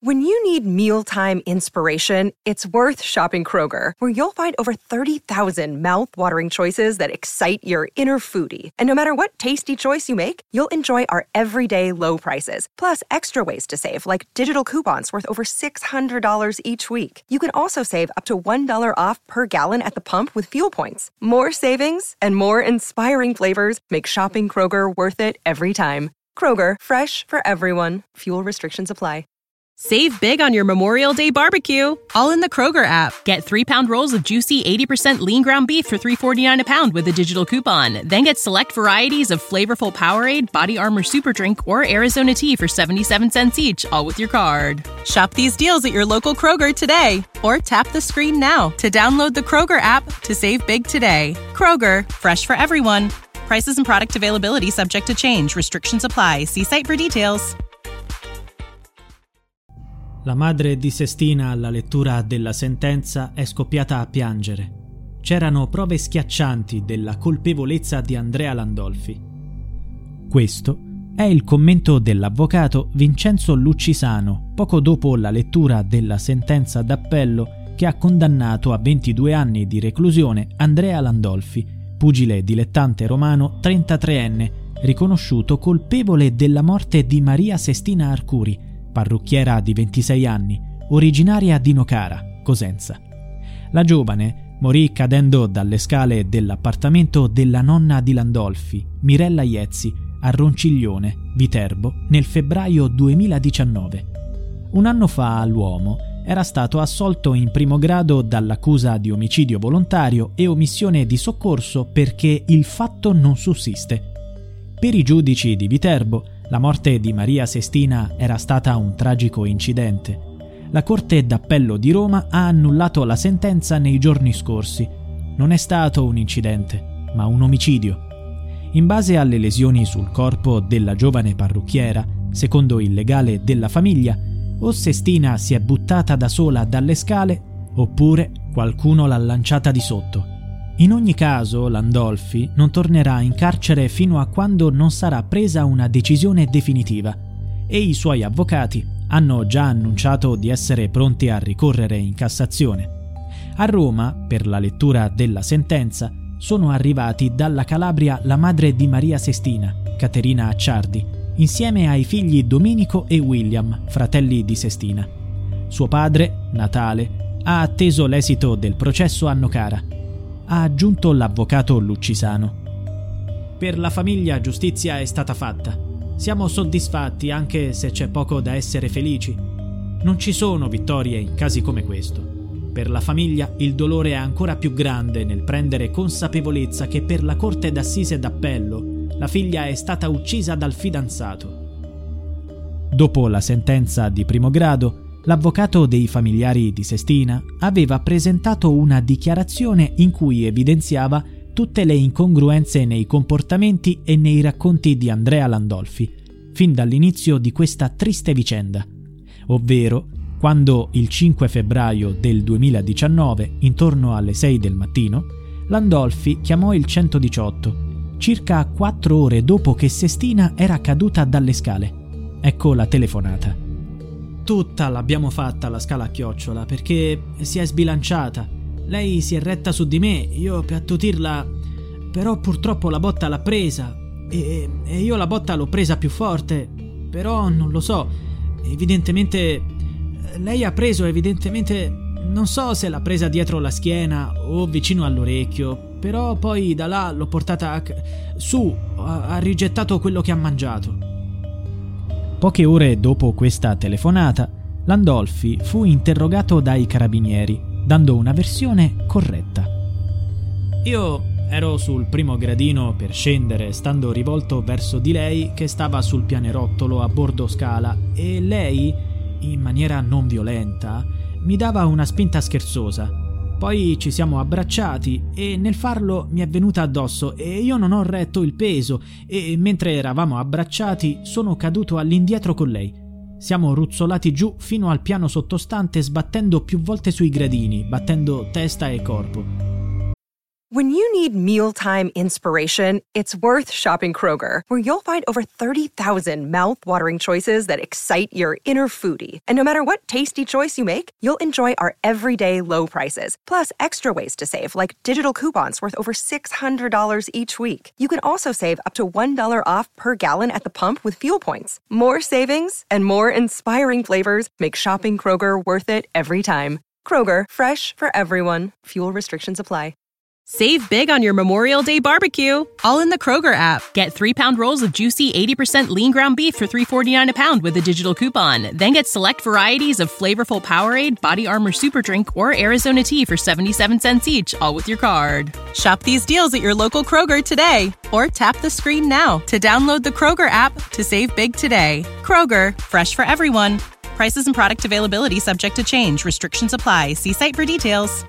When you need mealtime inspiration, it's worth shopping Kroger, where you'll find over 30,000 mouth-watering choices that excite your inner foodie. And no matter what tasty choice you make, you'll enjoy our everyday low prices, plus extra ways to save, like digital coupons worth over $600 each week. You can also save up to $1 off per gallon at the pump with fuel points. More savings and more inspiring flavors make shopping Kroger worth it every time. Kroger, fresh for everyone. Fuel restrictions apply. Save big on your Memorial Day barbecue, all in the Kroger app. Get 3-pound rolls of juicy 80% lean ground beef for $3.49 a pound with a digital coupon. Then get select varieties of flavorful Powerade, Body Armor Super Drink, or Arizona tea for 77 cents each, all with your card. Shop these deals at your local Kroger today, or tap the screen now to download the Kroger app to save big today. Kroger, fresh for everyone. Prices and product availability subject to change. Restrictions apply. See site for details. La madre di Sestina, alla lettura della sentenza, è scoppiata a piangere. C'erano prove schiaccianti della colpevolezza di Andrea Landolfi. Questo è il commento dell'avvocato Vincenzo Luccisano poco dopo la lettura della sentenza d'appello che ha condannato a 22 anni di reclusione Andrea Landolfi, pugile dilettante romano 33enne, riconosciuto colpevole della morte di Maria Sestina Arcuri, parrucchiera di 26 anni, originaria di Nocara, Cosenza. La giovane morì cadendo dalle scale dell'appartamento della nonna di Landolfi, Mirella Iezzi, a Ronciglione, Viterbo, nel febbraio 2019. Un anno fa l'uomo era stato assolto in primo grado dall'accusa di omicidio volontario e omissione di soccorso perché il fatto non sussiste. Per i giudici di Viterbo, la morte di Maria Sestina era stata un tragico incidente. La Corte d'Appello di Roma ha annullato la sentenza nei giorni scorsi. Non è stato un incidente, ma un omicidio. In base alle lesioni sul corpo della giovane parrucchiera, secondo il legale della famiglia, o Sestina si è buttata da sola dalle scale, oppure qualcuno l'ha lanciata di sotto. In ogni caso, Landolfi non tornerà in carcere fino a quando non sarà presa una decisione definitiva e i suoi avvocati hanno già annunciato di essere pronti a ricorrere in Cassazione. A Roma, per la lettura della sentenza, sono arrivati dalla Calabria la madre di Maria Sestina, Caterina Acciardi, insieme ai figli Domenico e William, fratelli di Sestina. Suo padre, Natale, ha atteso l'esito del processo a Nocara. Ha aggiunto l'avvocato Luccisano. Per la famiglia giustizia è stata fatta. Siamo soddisfatti anche se c'è poco da essere felici. Non ci sono vittorie in casi come questo. Per la famiglia il dolore è ancora più grande nel prendere consapevolezza che per la Corte d'Assise d'Appello la figlia è stata uccisa dal fidanzato. Dopo la sentenza di primo grado, l'avvocato dei familiari di Sestina aveva presentato una dichiarazione in cui evidenziava tutte le incongruenze nei comportamenti e nei racconti di Andrea Landolfi, fin dall'inizio di questa triste vicenda, ovvero quando il 5 febbraio del 2019, intorno alle 6 del mattino, Landolfi chiamò il 118, circa 4 ore dopo che Sestina era caduta dalle scale. Ecco la telefonata. Tutta l'abbiamo fatta la scala a chiocciola perché si è sbilanciata. Lei si è retta su di me, io per attutirla, però purtroppo la botta l'ha presa e io la botta l'ho presa più forte, però non lo so, evidentemente lei ha preso, non so se l'ha presa dietro la schiena o vicino all'orecchio, però poi da là l'ho portata su, ha rigettato quello che ha mangiato. Poche ore dopo questa telefonata, Landolfi fu interrogato dai carabinieri, dando una versione corretta. Io ero sul primo gradino per scendere, stando rivolto verso di lei che stava sul pianerottolo a bordo scala, e lei, in maniera non violenta, mi dava una spinta scherzosa. Poi ci siamo abbracciati e nel farlo mi è venuta addosso e io non ho retto il peso e mentre eravamo abbracciati sono caduto all'indietro con lei. Siamo ruzzolati giù fino al piano sottostante sbattendo più volte sui gradini, battendo testa e corpo. When you need mealtime inspiration, it's worth shopping Kroger, where you'll find over 30,000 mouth-watering choices that excite your inner foodie. And no matter what tasty choice you make, you'll enjoy our everyday low prices, plus extra ways to save, like digital coupons worth over $600 each week. You can also save up to $1 off per gallon at the pump with fuel points. More savings and more inspiring flavors make shopping Kroger worth it every time. Kroger, fresh for everyone. Fuel restrictions apply. Save big on your Memorial Day barbecue, all in the Kroger app. Get 3-pound rolls of juicy 80% lean ground beef for $3.49 a pound with a digital coupon. Then get select varieties of flavorful Powerade, Body Armor Super Drink, or Arizona tea for 77 cents each, all with your card. Shop these deals at your local Kroger today, or tap the screen now to download the Kroger app to save big today. Kroger, fresh for everyone. Prices and product availability subject to change. Restrictions apply. See site for details.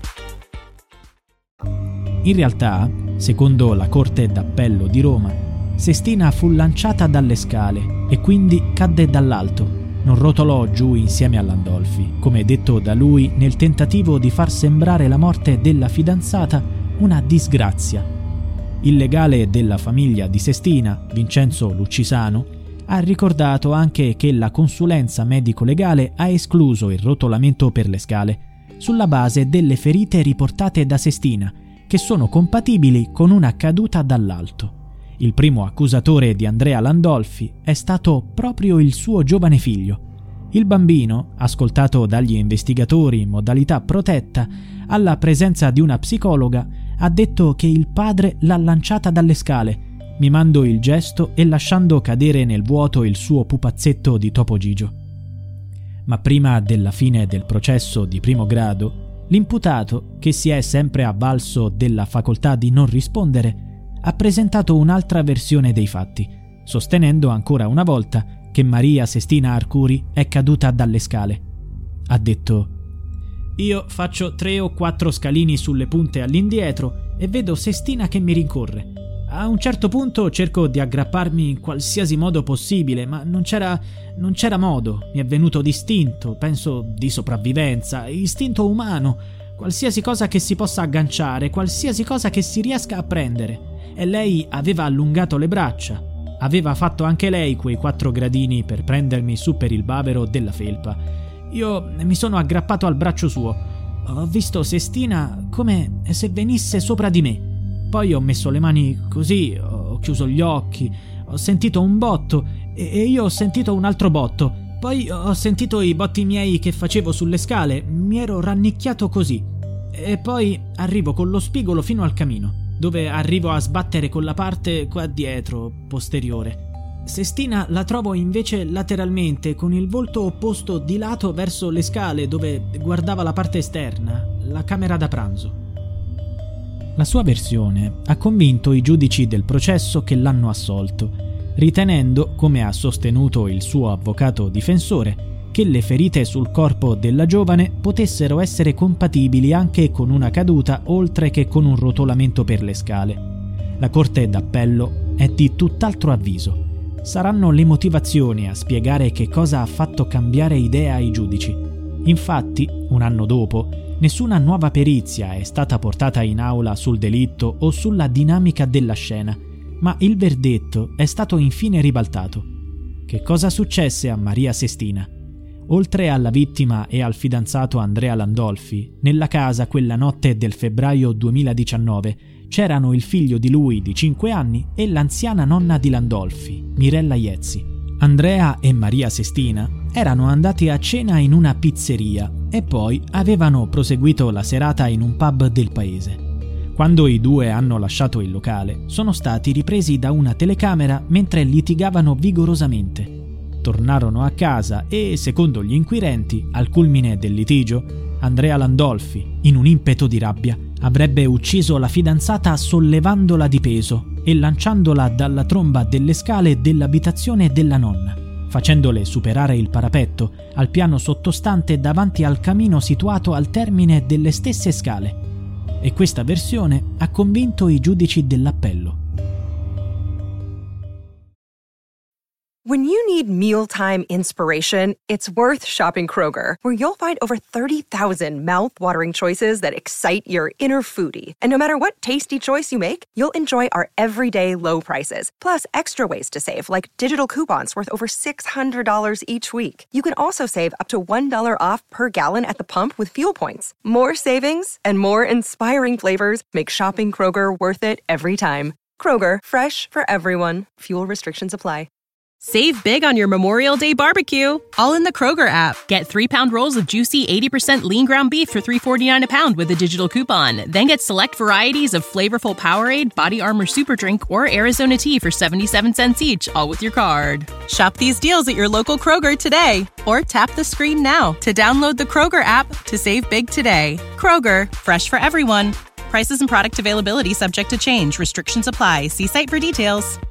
In realtà, secondo la Corte d'Appello di Roma, Sestina fu lanciata dalle scale e quindi cadde dall'alto, non rotolò giù insieme a Landolfi, come detto da lui nel tentativo di far sembrare la morte della fidanzata una disgrazia. Il legale della famiglia di Sestina, Vincenzo Luccisano, ha ricordato anche che la consulenza medico-legale ha escluso il rotolamento per le scale, sulla base delle ferite riportate da Sestina, che sono compatibili con una caduta dall'alto. Il primo accusatore di Andrea Landolfi è stato proprio il suo giovane figlio. Il bambino, ascoltato dagli investigatori in modalità protetta, alla presenza di una psicologa, ha detto che il padre l'ha lanciata dalle scale, mimando il gesto e lasciando cadere nel vuoto il suo pupazzetto di Topo Gigio. Ma prima della fine del processo di primo grado, l'imputato, che si è sempre avvalso della facoltà di non rispondere, ha presentato un'altra versione dei fatti, sostenendo ancora una volta che Maria Sestina Arcuri è caduta dalle scale. Ha detto: «Io faccio 3 o 4 scalini sulle punte all'indietro e vedo Sestina che mi rincorre. A un certo punto cerco di aggrapparmi in qualsiasi modo possibile, ma non c'era modo. Mi è venuto d'istinto, penso di sopravvivenza, istinto umano, qualsiasi cosa che si possa agganciare, qualsiasi cosa che si riesca a prendere. E lei aveva allungato le braccia. Aveva fatto anche lei quei 4 gradini per prendermi su per il bavero della felpa. Io mi sono aggrappato al braccio suo. Ho visto Sestina come se venisse sopra di me. Poi ho messo le mani così, ho chiuso gli occhi, ho sentito un botto e io ho sentito un altro botto. Poi ho sentito i botti miei che facevo sulle scale, mi ero rannicchiato così. E poi arrivo con lo spigolo fino al camino, dove arrivo a sbattere con la parte qua dietro, posteriore. Sestina la trovo invece lateralmente, con il volto opposto di lato verso le scale, dove guardava la parte esterna, la camera da pranzo. La sua versione ha convinto i giudici del processo che l'hanno assolto, ritenendo, come ha sostenuto il suo avvocato difensore, che le ferite sul corpo della giovane potessero essere compatibili anche con una caduta oltre che con un rotolamento per le scale. La Corte d'Appello è di tutt'altro avviso. Saranno le motivazioni a spiegare che cosa ha fatto cambiare idea ai giudici. Infatti, un anno dopo, nessuna nuova perizia è stata portata in aula sul delitto o sulla dinamica della scena, ma il verdetto è stato infine ribaltato. Che cosa successe a Maria Sestina? Oltre alla vittima e al fidanzato Andrea Landolfi, nella casa quella notte del febbraio 2019 c'erano il figlio di lui di 5 anni e l'anziana nonna di Landolfi, Mirella Iezzi. Andrea e Maria Sestina erano andati a cena in una pizzeria e poi avevano proseguito la serata in un pub del paese. Quando i due hanno lasciato il locale, sono stati ripresi da una telecamera mentre litigavano vigorosamente. Tornarono a casa e, secondo gli inquirenti, al culmine del litigio, Andrea Landolfi, in un impeto di rabbia, avrebbe ucciso la fidanzata sollevandola di peso e lanciandola dalla tromba delle scale dell'abitazione della nonna, facendole superare il parapetto al piano sottostante davanti al camino situato al termine delle stesse scale. E questa versione ha convinto i giudici dell'appello. When you need mealtime inspiration, it's worth shopping Kroger, where you'll find over 30,000 mouth-watering choices that excite your inner foodie. And no matter what tasty choice you make, you'll enjoy our everyday low prices, plus extra ways to save, like digital coupons worth over $600 each week. You can also save up to $1 off per gallon at the pump with fuel points. More savings and more inspiring flavors make shopping Kroger worth it every time. Kroger, fresh for everyone. Fuel restrictions apply. Save big on your Memorial Day barbecue, all in the Kroger app. Get 3-pound rolls of juicy 80% lean ground beef for $3.49 a pound with a digital coupon. Then get select varieties of flavorful Powerade, Body Armor Super Drink, or Arizona tea for 77 cents each, all with your card. Shop these deals at your local Kroger today, or tap the screen now to download the Kroger app to save big today. Kroger, fresh for everyone. Prices and product availability subject to change. Restrictions apply. See site for details.